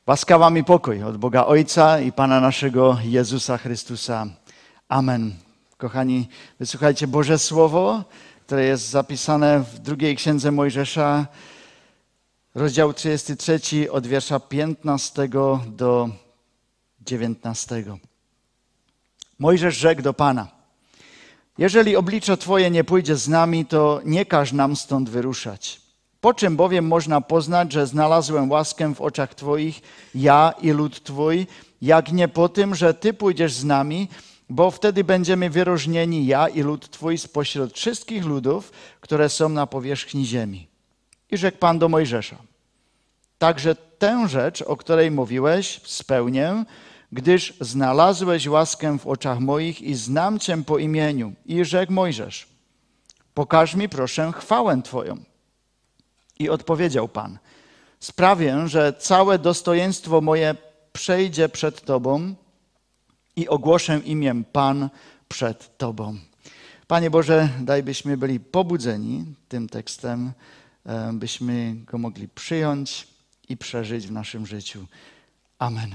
Łaska wam i pokój od Boga Ojca i Pana naszego Jezusa Chrystusa. Amen. Kochani, wysłuchajcie Boże Słowo, które jest zapisane w drugiej Księdze Mojżesza, rozdział 33, od wiersza 15 do 19. Mojżesz rzekł do Pana: jeżeli oblicze Twoje nie pójdzie z nami, to nie każ nam stąd wyruszać. Po czym bowiem można poznać, że znalazłem łaskę w oczach Twoich, ja i lud Twój, jak nie po tym, że Ty pójdziesz z nami, bo wtedy będziemy wyróżnieni, ja i lud Twój, spośród wszystkich ludów, które są na powierzchni ziemi. I rzekł Pan do Mojżesza: także tę rzecz, o której mówiłeś, spełnię, gdyż znalazłeś łaskę w oczach moich i znam Cię po imieniu. I rzekł Mojżesz: pokaż mi proszę chwałę Twoją. I odpowiedział Pan: sprawię, że całe dostojeństwo moje przejdzie przed Tobą i ogłoszę imię Pan przed Tobą. Panie Boże, daj byśmy byli pobudzeni tym tekstem, byśmy go mogli przyjąć i przeżyć w naszym życiu. Amen.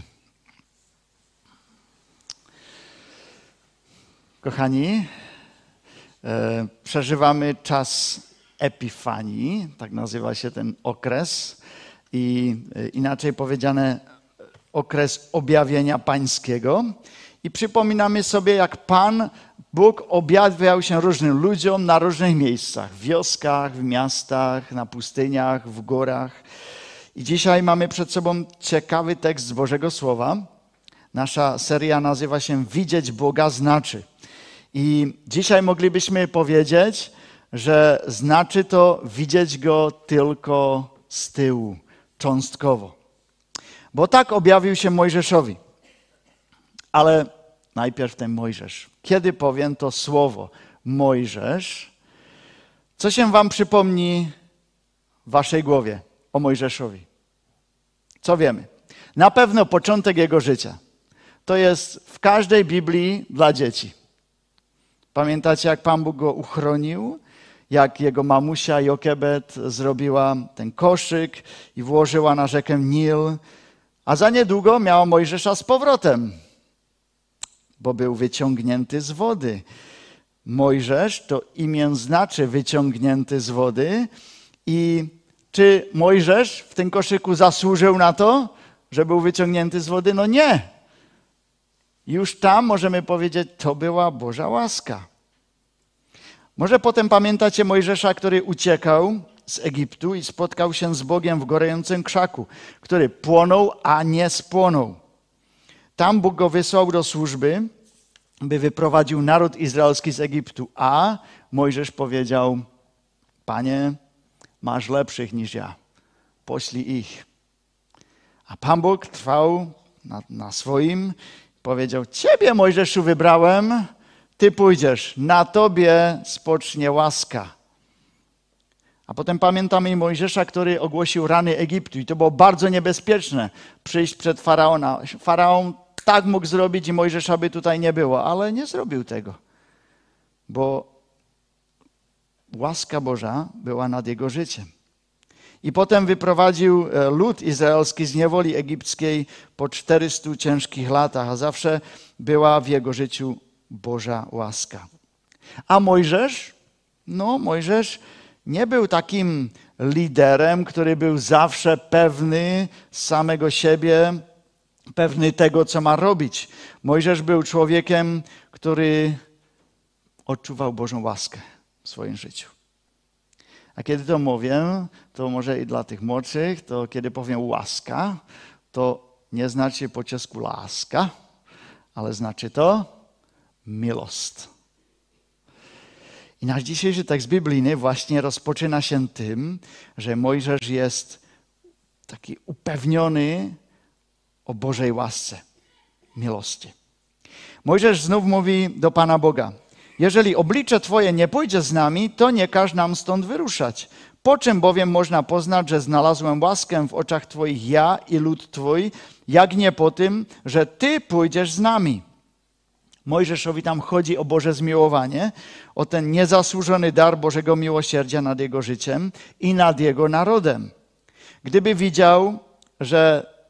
Kochani, przeżywamy czas Epifanii, tak nazywa się ten okres, i inaczej powiedziane okres objawienia pańskiego. I przypominamy sobie, jak Pan Bóg objawiał się różnym ludziom na różnych miejscach, w wioskach, w miastach, na pustyniach, w górach. I dzisiaj mamy przed sobą ciekawy tekst z Bożego Słowa. Nasza seria nazywa się Widzieć Boga znaczy. I dzisiaj moglibyśmy powiedzieć, że znaczy to widzieć Go tylko z tyłu, cząstkowo. Bo tak objawił się Mojżeszowi. Ale najpierw ten Mojżesz. Kiedy powiem to słowo Mojżesz, co się wam przypomni w waszej głowie o Mojżeszowi? Co wiemy? Na pewno początek jego życia. To jest w każdej Biblii dla dzieci. Pamiętacie, jak Pan Bóg go uchronił? Jak jego mamusia Jokebed zrobiła ten koszyk i włożyła na rzekę Nil, a za niedługo miała Mojżesza z powrotem, bo był wyciągnięty z wody. Mojżesz to imię znaczy wyciągnięty z wody. I czy Mojżesz w tym koszyku zasłużył na to, że był wyciągnięty z wody? No nie. Już tam możemy powiedzieć, to była Boża łaska. Może potem pamiętacie Mojżesza, który uciekał z Egiptu i spotkał się z Bogiem w gorącym krzaku, który płonął, a nie spłonął. Tam Bóg go wysłał do służby, by wyprowadził naród izraelski z Egiptu, a Mojżesz powiedział: Panie, masz lepszych niż ja, poślij ich. A Pan Bóg trwał na swoim, powiedział: Ciebie, Mojżeszu, wybrałem, Ty pójdziesz, na Tobie spocznie łaska. A potem pamiętamy i Mojżesza, który ogłosił rany Egiptu. I to było bardzo niebezpieczne, przyjść przed Faraona. Faraon tak mógł zrobić i Mojżesza by tutaj nie było, ale nie zrobił tego. Bo łaska Boża była nad jego życiem. I potem wyprowadził lud izraelski z niewoli egipskiej po 400 ciężkich latach, a zawsze była w jego życiu Boża łaska. A Mojżesz? No, Mojżesz nie był takim liderem, który był zawsze pewny samego siebie, pewny tego, co ma robić. Mojżesz był człowiekiem, który odczuwał Bożą łaskę w swoim życiu. A kiedy to mówię, to może i dla tych młodszych, to kiedy powiem łaska, to nie znaczy po czesku láska, ale znaczy to miłość. I nasz dzisiejszy tekst biblijny właśnie rozpoczyna się tym, że Mojżesz jest taki upewniony o Bożej łasce, miłości. Mojżesz znów mówi do Pana Boga: jeżeli oblicze Twoje nie pójdzie z nami, to nie każ nam stąd wyruszać. Po czym bowiem można poznać, że znalazłem łaskę w oczach Twoich ja i lud Twój, jak nie po tym, że Ty pójdziesz z nami. Mojżeszowi tam chodzi o Boże zmiłowanie, o ten niezasłużony dar Bożego miłosierdzia nad jego życiem i nad jego narodem. Gdyby widział, że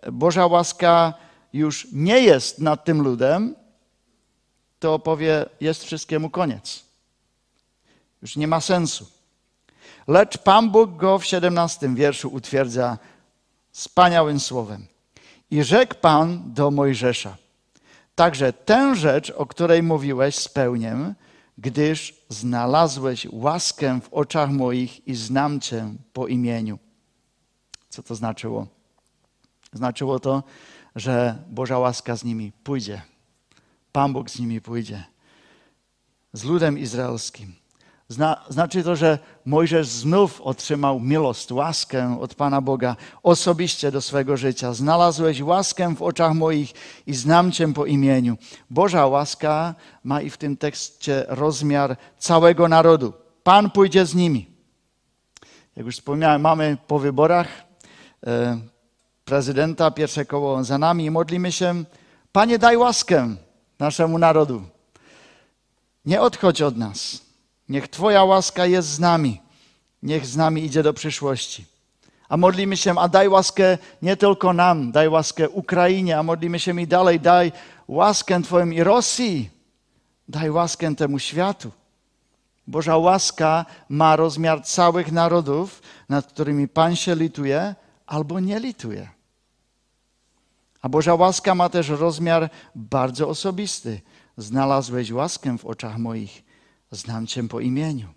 Boża łaska już nie jest nad tym ludem, to powie, jest wszystkiemu koniec. Już nie ma sensu. Lecz Pan Bóg go w 17 wierszu utwierdza wspaniałym słowem. I rzekł Pan do Mojżesza, także tę rzecz, o której mówiłeś, spełnię, gdyż znalazłeś łaskę w oczach moich i znam Cię po imieniu. Co to znaczyło? Znaczyło to, że Boża łaska z nimi pójdzie. Pan Bóg z nimi pójdzie. Z ludem izraelskim. Znaczy to, że Mojżesz znów otrzymał miłość, łaskę od Pana Boga osobiście do swego życia. Znalazłeś łaskę w oczach moich i znam Cię po imieniu. Boża łaska ma i w tym tekście rozmiar całego narodu. Pan pójdzie z nimi. Jak już wspomniałem, mamy po wyborach prezydenta, pierwsze koło za nami i modlimy się, Panie, daj łaskę naszemu narodu. Nie odchodź od nas. Niech Twoja łaska jest z nami. Niech z nami idzie do przyszłości. A modlimy się, a daj łaskę nie tylko nam, daj łaskę Ukrainie, a modlimy się i dalej, daj łaskę Twoim i Rosji. Daj łaskę temu światu. Boża łaska ma rozmiar całych narodów, nad którymi Pan się lituje albo nie lituje. A Boża łaska ma też rozmiar bardzo osobisty. Znalazłeś łaskę w oczach moich, znam Cię po imieniu.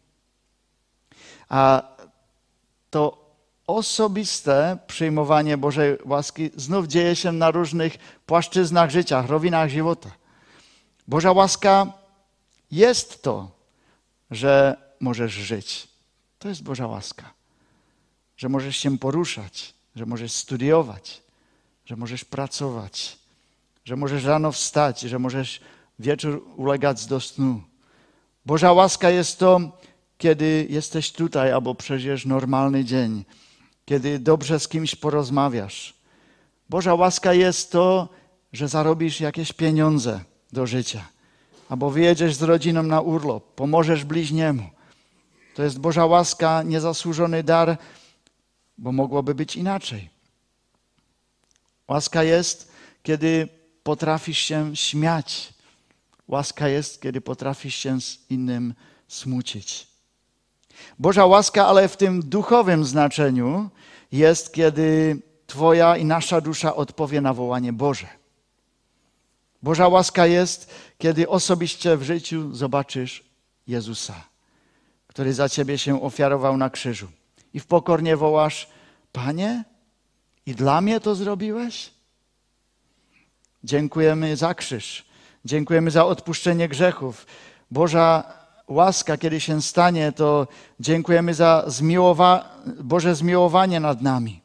A to osobiste przyjmowanie Bożej łaski znów dzieje się na różnych płaszczyznach życia, rowinach żywota. Boża łaska jest to, że możesz żyć. To jest Boża łaska. Że możesz się poruszać, że możesz studiować, że możesz pracować, że możesz rano wstać, że możesz wieczór ulegać do snu. Boża łaska jest to, kiedy jesteś tutaj albo przeżyjesz normalny dzień, kiedy dobrze z kimś porozmawiasz. Boża łaska jest to, że zarobisz jakieś pieniądze do życia, albo wyjedziesz z rodziną na urlop, pomożesz bliźniemu. To jest Boża łaska, niezasłużony dar, bo mogłoby być inaczej. Łaska jest, kiedy potrafisz się śmiać. Łaska jest, kiedy potrafisz się z innym smucić. Boża łaska, ale w tym duchowym znaczeniu jest, kiedy Twoja i nasza dusza odpowie na wołanie Boże. Boża łaska jest, kiedy osobiście w życiu zobaczysz Jezusa, który za Ciebie się ofiarował na krzyżu. I w pokornie wołasz, Panie, i dla mnie to zrobiłeś? Dziękujemy za krzyż. Dziękujemy za odpuszczenie grzechów. Boża łaska, kiedy się stanie, to dziękujemy za Boże zmiłowanie nad nami.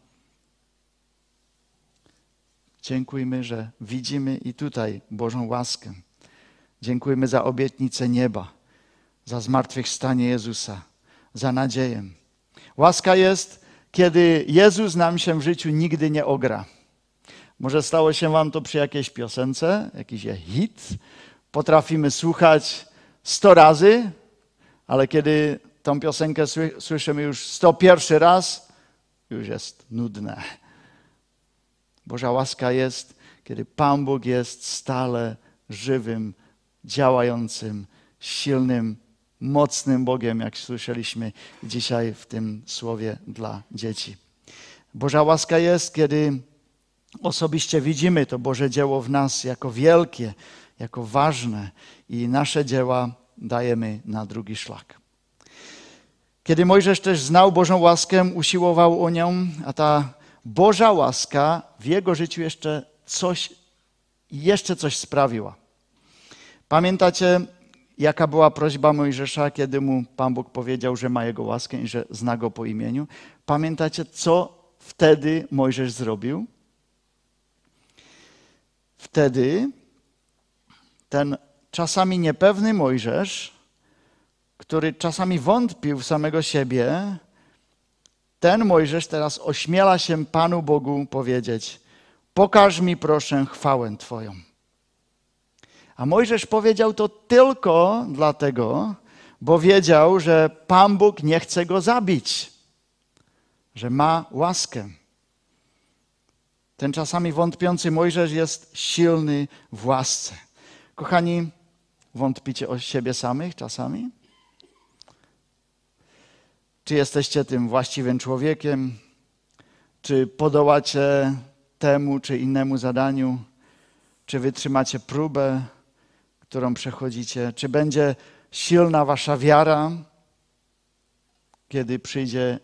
Dziękujmy, że widzimy i tutaj Bożą łaskę. Dziękujemy za obietnicę nieba, za zmartwychwstanie Jezusa, za nadzieję. Łaska jest, kiedy Jezus nam się w życiu nigdy nie ogra. Może stało się wam to przy jakiejś piosence, jakiś hit. Potrafimy słuchać 100 razy, ale kiedy tą piosenkę słyszymy już 101 raz, już jest nudne. Boża łaska jest, kiedy Pan Bóg jest stale żywym, działającym, silnym, mocnym Bogiem, jak słyszeliśmy dzisiaj w tym słowie dla dzieci. Boża łaska jest, kiedy osobiście widzimy to Boże dzieło w nas jako wielkie, jako ważne i nasze dzieła dajemy na drugi szlak. Kiedy Mojżesz też znał Bożą łaskę, usiłował o nią, a ta Boża łaska w jego życiu jeszcze coś sprawiła. Pamiętacie, jaka była prośba Mojżesza, kiedy mu Pan Bóg powiedział, że ma jego łaskę i że zna go po imieniu? Pamiętacie, co wtedy Mojżesz zrobił? Wtedy ten czasami niepewny Mojżesz, który czasami wątpił w samego siebie, ten Mojżesz teraz ośmiela się Panu Bogu powiedzieć: pokaż mi proszę chwałę Twoją. A Mojżesz powiedział to tylko dlatego, bo wiedział, że Pan Bóg nie chce go zabić, że ma łaskę. Ten czasami wątpiący Mojżesz jest silny w łasce. Kochani, wątpicie o siebie samych czasami? Czy jesteście tym właściwym człowiekiem? Czy podołacie temu czy innemu zadaniu? Czy wytrzymacie próbę, którą przechodzicie? Czy będzie silna wasza wiara, kiedy przyjdzie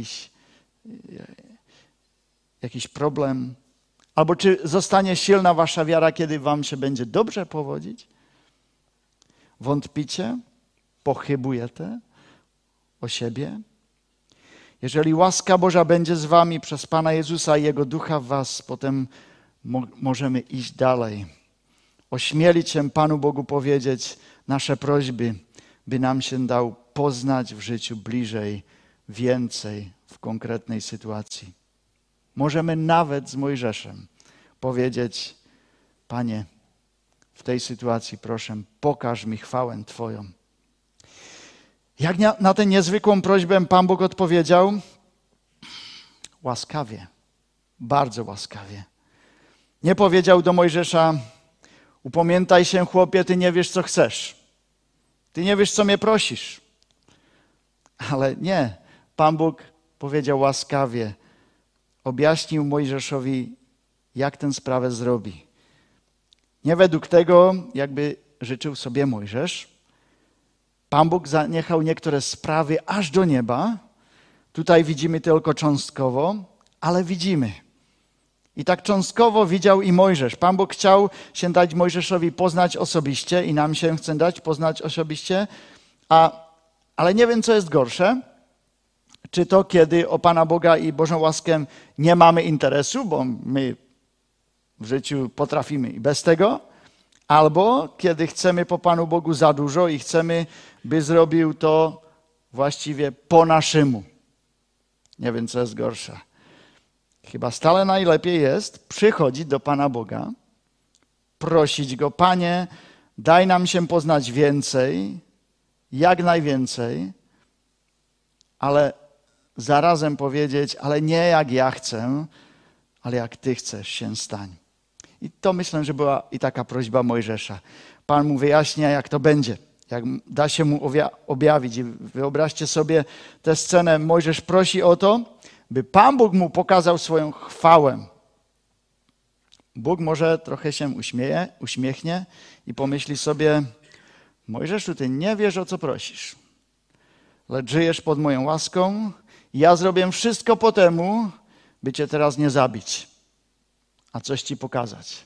jakiś problem? Albo czy zostanie silna wasza wiara, kiedy wam się będzie dobrze powodzić? Wątpicie? Pochybujecie o siebie? Jeżeli łaska Boża będzie z wami przez Pana Jezusa i Jego Ducha w was, potem możemy iść dalej. Ośmielić się Panu Bogu powiedzieć nasze prośby, by nam się dał poznać w życiu bliżej, więcej w konkretnej sytuacji. Możemy nawet z Mojżeszem powiedzieć: Panie, w tej sytuacji proszę, pokaż mi chwałę Twoją. Jak na tę niezwykłą prośbę Pan Bóg odpowiedział? Łaskawie, bardzo łaskawie. Nie powiedział do Mojżesza: upamiętaj się, chłopie, ty nie wiesz, co chcesz. Ty nie wiesz, co mnie prosisz. Ale nie, Pan Bóg powiedział łaskawie, objaśnił Mojżeszowi, jak tę sprawę zrobi. Nie według tego, jakby życzył sobie Mojżesz. Pan Bóg zaniechał niektóre sprawy aż do nieba. Tutaj widzimy tylko cząstkowo, ale widzimy. I tak cząstkowo widział i Mojżesz. Pan Bóg chciał się dać Mojżeszowi poznać osobiście i nam się chce dać poznać osobiście, ale nie wiem, co jest gorsze. Czy to, kiedy o Pana Boga i Bożą łaskę nie mamy interesu, bo my w życiu potrafimy i bez tego, albo kiedy chcemy po Panu Bogu za dużo i chcemy, by zrobił to właściwie po naszemu. Nie wiem, co jest gorsze. Chyba stale najlepiej jest przychodzić do Pana Boga, prosić Go: Panie, daj nam się poznać więcej, jak najwięcej, ale zarazem powiedzieć: ale nie jak ja chcę, ale jak Ty chcesz, się stań. I to myślę, że była i taka prośba Mojżesza. Pan mu wyjaśnia, jak to będzie, jak da się mu objawić. I wyobraźcie sobie tę scenę. Mojżesz prosi o to, by Pan Bóg mu pokazał swoją chwałę. Bóg może trochę się uśmiechnie i pomyśli sobie: Mojżeszu, ty nie wiesz, o co prosisz, lecz żyjesz pod moją łaską i ja zrobię wszystko po temu, by cię teraz nie zabić, a coś ci pokazać.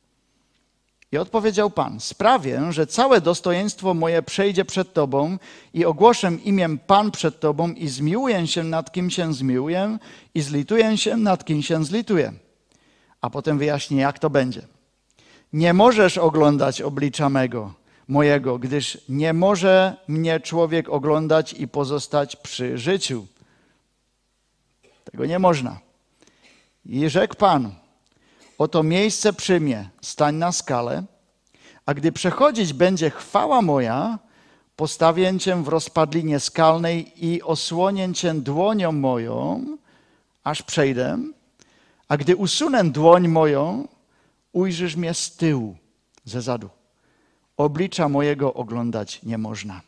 I odpowiedział Pan: sprawię, że całe dostojeństwo moje przejdzie przed Tobą i ogłoszę imię Pan przed Tobą i zmiłuję się nad kim się zmiłuję i zlituję się nad kim się zlituję. A potem wyjaśnię, jak to będzie. Nie możesz oglądać oblicza mojego, gdyż nie może mnie człowiek oglądać i pozostać przy życiu. Tego nie można. I rzekł Pan: oto miejsce przy mnie, stań na skale, a gdy przechodzić będzie chwała moja, postawię cię w rozpadlinie skalnej i osłonię cię dłonią moją, aż przejdę, a gdy usunę dłoń moją, ujrzysz mnie z tyłu, ze zadu. Oblicza mojego oglądać nie można.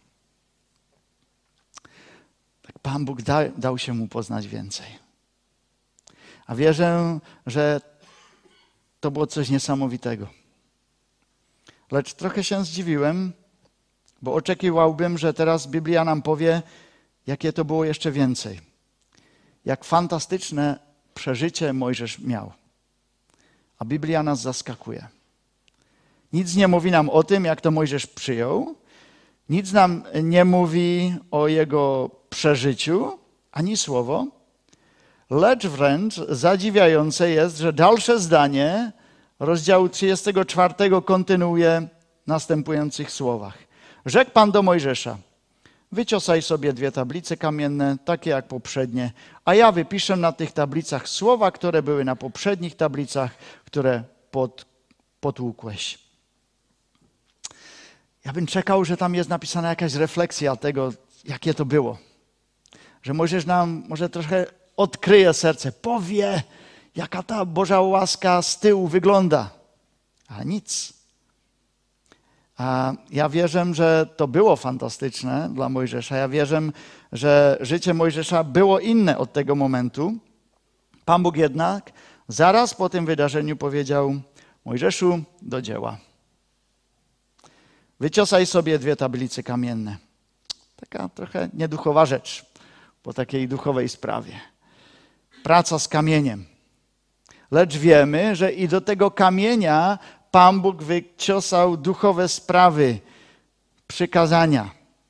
Tak Pan Bóg dał się mu poznać więcej. A wierzę, że to było coś niesamowitego. Lecz trochę się zdziwiłem, bo oczekiwałbym, że teraz Biblia nam powie, jakie to było jeszcze więcej. Jak fantastyczne przeżycie Mojżesz miał. A Biblia nas zaskakuje. Nic nie mówi nam o tym, jak to Mojżesz przyjął. Nic nam nie mówi o jego przeżyciu, ani słowo. Lecz wręcz zadziwiające jest, że dalsze zdanie rozdziału 34 kontynuuje w następujących słowach. Rzekł Pan do Mojżesza: wyciosaj sobie 2 tablice kamienne, takie jak poprzednie, a ja wypiszę na tych tablicach słowa, które były na poprzednich tablicach, które potłukłeś. Ja bym czekał, że tam jest napisana jakaś refleksja tego, jakie to było. Że Mojżesz nam może trochę odkryje serce, powie, jaka ta Boża łaska z tyłu wygląda. A nic. A ja wierzę, że to było fantastyczne dla Mojżesza. Ja wierzę, że życie Mojżesza było inne od tego momentu. Pan Bóg jednak zaraz po tym wydarzeniu powiedział: Mojżeszu, do dzieła. Wyciosaj sobie 2 tablice kamienne. Taka trochę nieduchowa rzecz po takiej duchowej sprawie. Praca z kamieniem. Lecz wiemy, że i do tego kamienia Pan Bóg wyciosał duchowe sprawy, przykazania.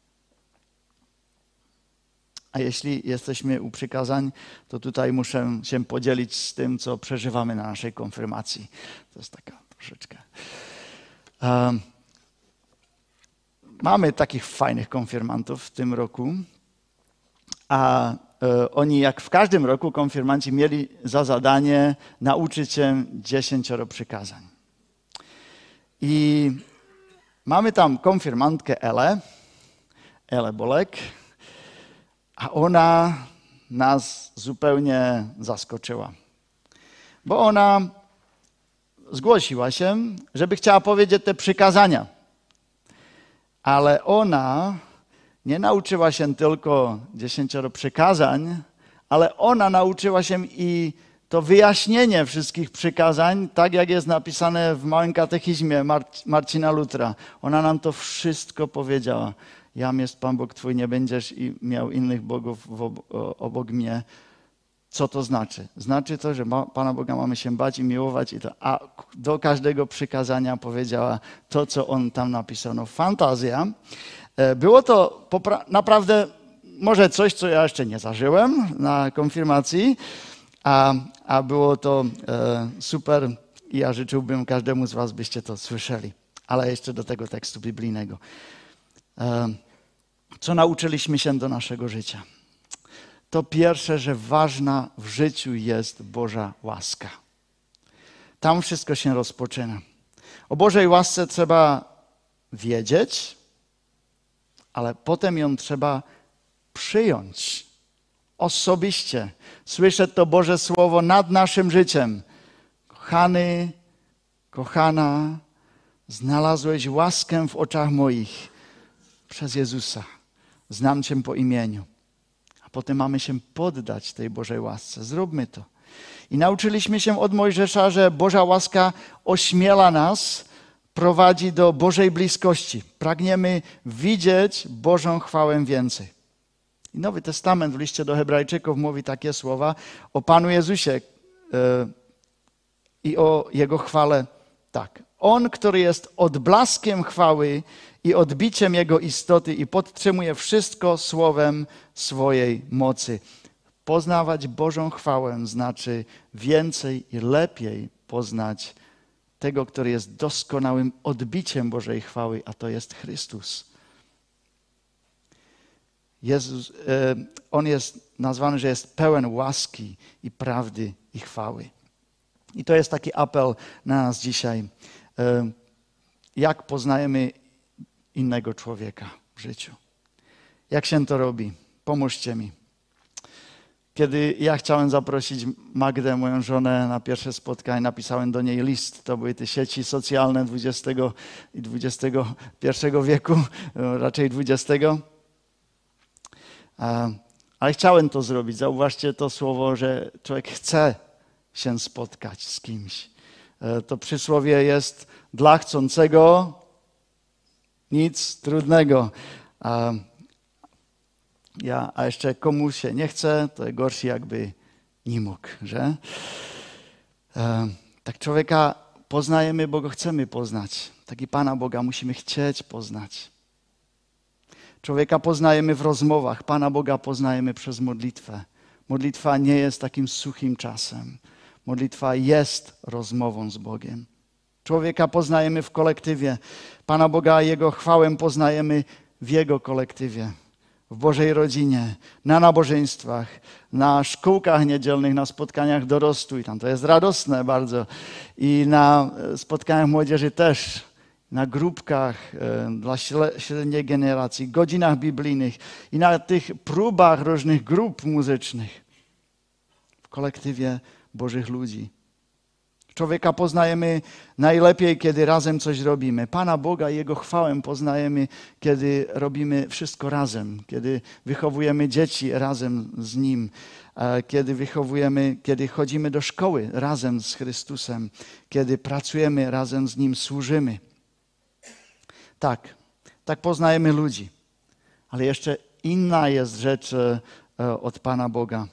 A jeśli jesteśmy u przykazań, to tutaj muszę się podzielić z tym, co przeżywamy na naszej konfirmacji. To jest taka troszeczkę... Mamy takich fajnych konfirmantów w tym roku, a oni, jak w każdym roku, konfirmanci mieli za zadanie nauczyć się 10 przykazań. I mamy tam konfirmantkę Elę Bolek, a ona nas zupełnie zaskoczyła. Bo ona zgłosiła się, żeby chciała powiedzieć te przykazania. Ale ona nie nauczyła się tylko 10 przykazań, ale ona nauczyła się i to wyjaśnienie wszystkich przykazań, tak jak jest napisane w Małym Katechizmie Marcina Lutra. Ona nam to wszystko powiedziała. Jam jest Pan Bóg Twój, nie będziesz i miał innych bogów obok mnie. Co to znaczy? Znaczy to, że Pana Boga mamy się bać i miłować. A do każdego przykazania powiedziała to, co on tam napisał. No, fantazja. Było to naprawdę może coś, co ja jeszcze nie zażyłem na konfirmacji, a było to super i ja życzyłbym każdemu z was, byście to słyszeli. Ale jeszcze do tego tekstu biblijnego. Co nauczyliśmy się do naszego życia? To pierwsze, że ważna w życiu jest Boża łaska. Tam wszystko się rozpoczyna. O Bożej łasce trzeba wiedzieć, ale potem ją trzeba przyjąć osobiście. Słyszeć to Boże Słowo nad naszym życiem. Kochany, kochana, znalazłeś łaskę w oczach moich przez Jezusa. Znam Cię po imieniu. A potem mamy się poddać tej Bożej łasce. Zróbmy to. I nauczyliśmy się od Mojżesza, że Boża łaska ośmiela nas, prowadzi do Bożej bliskości. Pragniemy widzieć Bożą chwałę więcej. I Nowy Testament w liście do Hebrajczyków mówi takie słowa o Panu Jezusie i o Jego chwale tak. On, który jest odblaskiem chwały i odbiciem Jego istoty i podtrzymuje wszystko słowem swojej mocy. Poznawać Bożą chwałę znaczy więcej i lepiej poznać tego, który jest doskonałym odbiciem Bożej chwały, a to jest Chrystus. Jezus, On jest nazwany, że jest pełen łaski i prawdy i chwały. I to jest taki apel na nas dzisiaj. Jak poznajemy innego człowieka w życiu? Jak się to robi? Pomóżcie mi. Kiedy ja chciałem zaprosić Magdę, moją żonę, na pierwsze spotkanie, napisałem do niej list. To były te sieci socjalne XX i XXI wieku, raczej XX. Ale chciałem to zrobić. Zauważcie to słowo, że człowiek chce się spotkać z kimś. To przysłowie jest dla chcącego nic trudnego. A jeszcze komu się nie chce, to gorszy jakby nie mógł, że? Tak człowieka poznajemy, bo go chcemy poznać. Tak i Pana Boga musimy chcieć poznać. Człowieka poznajemy w rozmowach, Pana Boga poznajemy przez modlitwę. Modlitwa nie jest takim suchym czasem. Modlitwa jest rozmową z Bogiem. Człowieka poznajemy w kolektywie. Pana Boga i Jego chwałę poznajemy w Jego kolektywie. W Bożej rodzinie, na nabożeństwach, na szkółkach niedzielnych, na spotkaniach dorostów. I tam to jest radosne bardzo. I na spotkaniach młodzieży też. Na grupkach dla średniej generacji, godzinach biblijnych i na tych próbach różnych grup muzycznych. W kolektywie Bożych ludzi. Człowieka poznajemy najlepiej, kiedy razem coś robimy. Pana Boga i Jego chwałę poznajemy, kiedy robimy wszystko razem, kiedy wychowujemy dzieci razem z Nim, kiedy chodzimy do szkoły razem z Chrystusem, kiedy pracujemy razem z Nim, służymy. Tak poznajemy ludzi. Ale jeszcze inna jest rzecz od Pana Boga.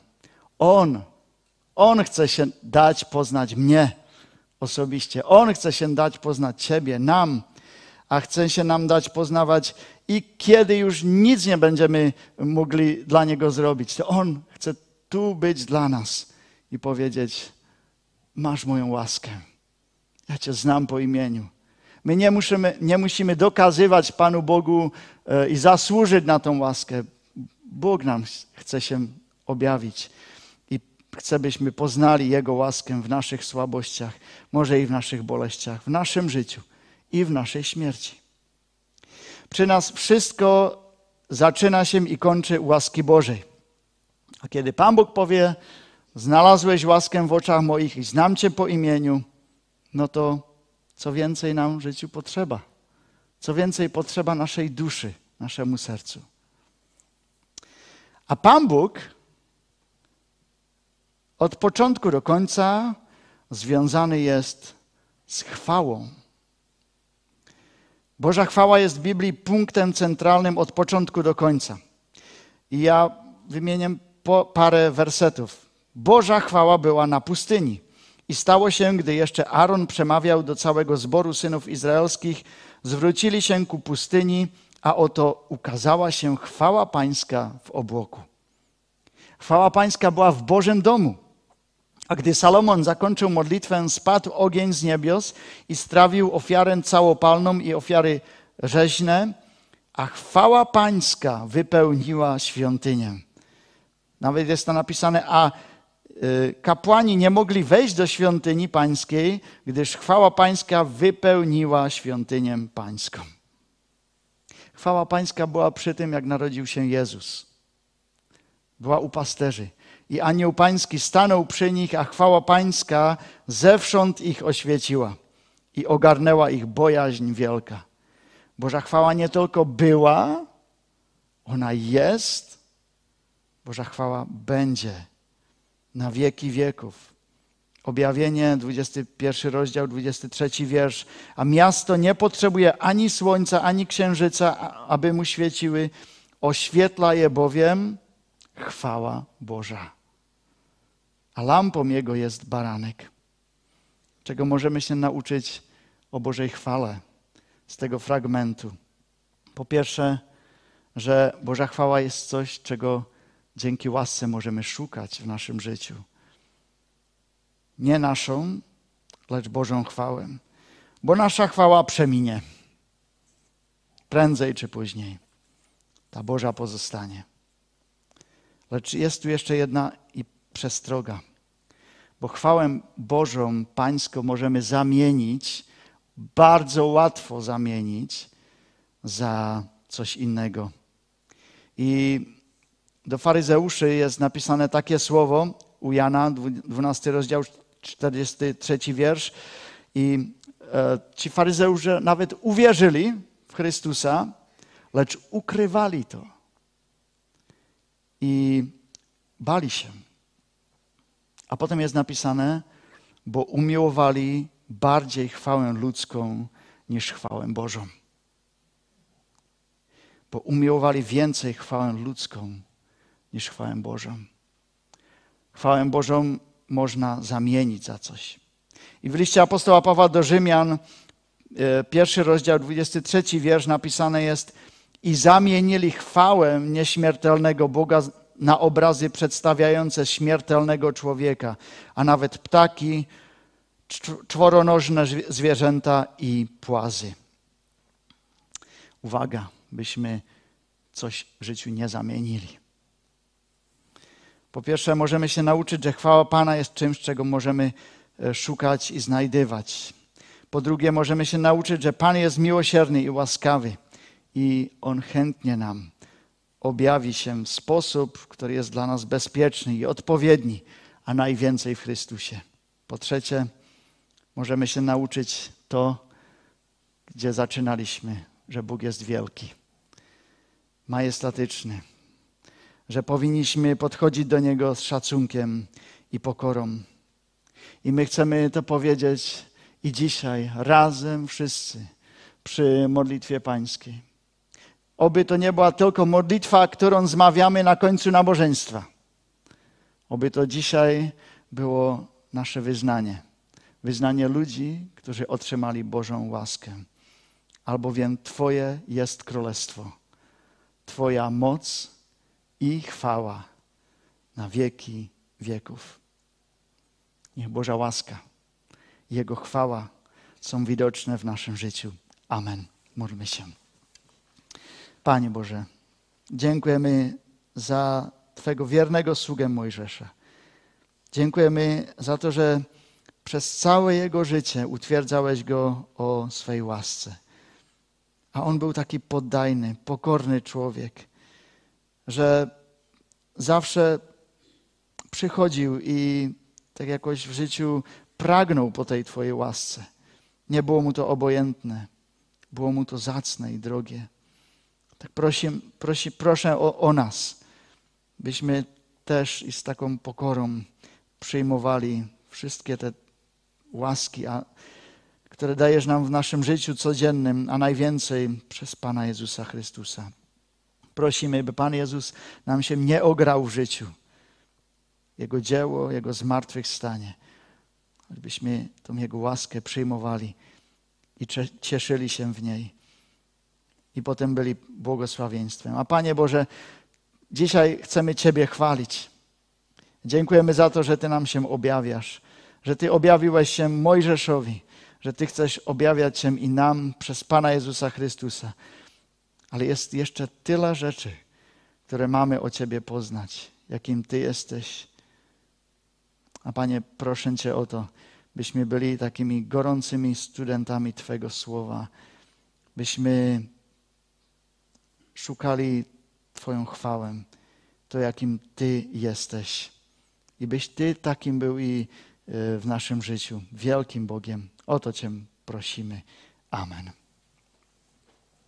On chce się dać poznać mnie osobiście. On chce się dać poznać Ciebie, nam, a chce się nam dać poznawać i kiedy już nic nie będziemy mogli dla Niego zrobić, to On chce tu być dla nas i powiedzieć: masz moją łaskę. Ja Cię znam po imieniu. My nie musimy dokazywać Panu Bogu i zasłużyć na tą łaskę. Bóg nam chce się objawić i chce, byśmy poznali Jego łaskę w naszych słabościach, może i w naszych boleściach, w naszym życiu i w naszej śmierci. Przy nas wszystko zaczyna się i kończy u łaski Bożej. A kiedy Pan Bóg powie: znalazłeś łaskę w oczach moich i znam Cię po imieniu, no to co więcej nam w życiu potrzeba? Co więcej potrzeba naszej duszy, naszemu sercu? A Pan Bóg od początku do końca związany jest z chwałą. Boża chwała jest w Biblii punktem centralnym od początku do końca. I ja wymienię parę wersetów. Boża chwała była na pustyni. I stało się, gdy jeszcze Aaron przemawiał do całego zboru synów izraelskich, zwrócili się ku pustyni, a oto ukazała się chwała Pańska w obłoku. Chwała Pańska była w Bożym domu. A gdy Salomon zakończył modlitwę, spadł ogień z niebios i strawił ofiarę całopalną i ofiary rzeźne, a chwała Pańska wypełniła świątynię. Nawet jest to napisane, a kapłani nie mogli wejść do świątyni pańskiej, gdyż chwała Pańska wypełniła świątynię pańską. Chwała Pańska była przy tym, jak narodził się Jezus. Była u pasterzy. I anioł pański stanął przy nich, a chwała Pańska zewsząd ich oświeciła i ogarnęła ich bojaźń wielka. Boża chwała nie tylko była, ona jest, Boża chwała będzie na wieki wieków. Objawienie, 21 rozdział, 23 wiersz. A miasto nie potrzebuje ani słońca, ani księżyca, aby mu świeciły. Oświetla je bowiem chwała Boża. A lampą jego jest baranek. Czego możemy się nauczyć o Bożej chwale z tego fragmentu? Po pierwsze, że Boża chwała jest coś, czego dzięki łasce możemy szukać w naszym życiu. Nie naszą, lecz Bożą chwałę. Bo nasza chwała przeminie. Prędzej czy później. Ta Boża pozostanie. Lecz jest tu jeszcze jedna i przestroga. Bo chwałę Bożą, Pańską możemy zamienić, bardzo łatwo zamienić za coś innego. I do faryzeuszy jest napisane takie słowo u Jana, 12 rozdział, 43 wiersz. I ci faryzeusze nawet uwierzyli w Chrystusa, lecz ukrywali to. I bali się. A potem jest napisane, bo umiłowali bardziej chwałę ludzką niż chwałę Bożą. Bo umiłowali więcej chwałę ludzką niż chwałę Bożą. Chwałę Bożą można zamienić za coś. I w liście apostoła Pawła do Rzymian, 1 rozdział, 23 wiersz napisane jest: i zamienili chwałę nieśmiertelnego Boga na obrazy przedstawiające śmiertelnego człowieka, a nawet ptaki, czworonożne zwierzęta i płazy. Uwaga, byśmy coś w życiu nie zamienili. Po pierwsze, możemy się nauczyć, że chwała Pana jest czymś, czego możemy szukać i znajdywać. Po drugie, możemy się nauczyć, że Pan jest miłosierny i łaskawy i On chętnie nam objawi się w sposób, który jest dla nas bezpieczny i odpowiedni, a najwięcej w Chrystusie. Po trzecie, możemy się nauczyć to, gdzie zaczynaliśmy, że Bóg jest wielki, majestatyczny, że powinniśmy podchodzić do Niego z szacunkiem i pokorą. I my chcemy to powiedzieć i dzisiaj razem wszyscy przy modlitwie pańskiej. Oby to nie była tylko modlitwa, którą zmawiamy na końcu nabożeństwa. Oby to dzisiaj było nasze wyznanie. Wyznanie ludzi, którzy otrzymali Bożą łaskę. Albowiem Twoje jest królestwo, Twoja moc i chwała na wieki wieków. Niech Boża łaska i Jego chwała są widoczne w naszym życiu. Amen. Módlmy się. Panie Boże, dziękujemy za Twego wiernego sługę Mojżesza. Dziękujemy za to, że przez całe jego życie utwierdzałeś go o swej łasce. A on był taki poddajny, pokorny człowiek, że zawsze przychodził i tak jakoś w życiu pragnął po tej Twojej łasce. Nie było mu to obojętne, było mu to zacne i drogie. Tak proszę o nas, byśmy też i z taką pokorą przyjmowali wszystkie te łaski, które dajesz nam w naszym życiu codziennym, a najwięcej przez Pana Jezusa Chrystusa. Prosimy, by Pan Jezus nam się nie ograł w życiu. Jego dzieło, Jego zmartwychwstanie. Byśmy tą Jego łaskę przyjmowali i cieszyli się w niej. I potem byli błogosławieństwem. A Panie Boże, dzisiaj chcemy Ciebie chwalić. Dziękujemy za to, że Ty nam się objawiasz, że Ty objawiłeś się Mojżeszowi, że Ty chcesz objawiać się i nam przez Pana Jezusa Chrystusa. Ale jest jeszcze tyle rzeczy, które mamy o Ciebie poznać, jakim Ty jesteś. A Panie, proszę Cię o to, byśmy byli takimi gorącymi studentami Twojego Słowa, byśmy szukali Twoją chwałę, to jakim Ty jesteś. I byś Ty takim był i w naszym życiu, wielkim Bogiem. O to Cię prosimy. Amen.